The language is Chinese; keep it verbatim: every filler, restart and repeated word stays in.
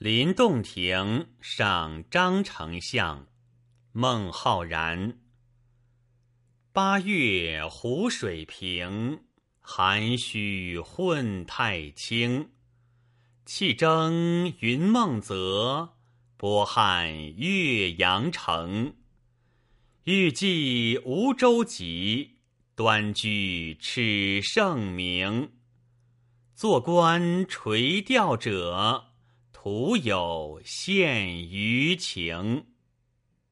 临洞庭上张丞相，孟浩然。八月湖水平，涵虚混太清。气蒸云梦泽，波撼岳阳城。欲济无舟楫，端居耻圣明。坐观垂钓者，徒有羡鱼情。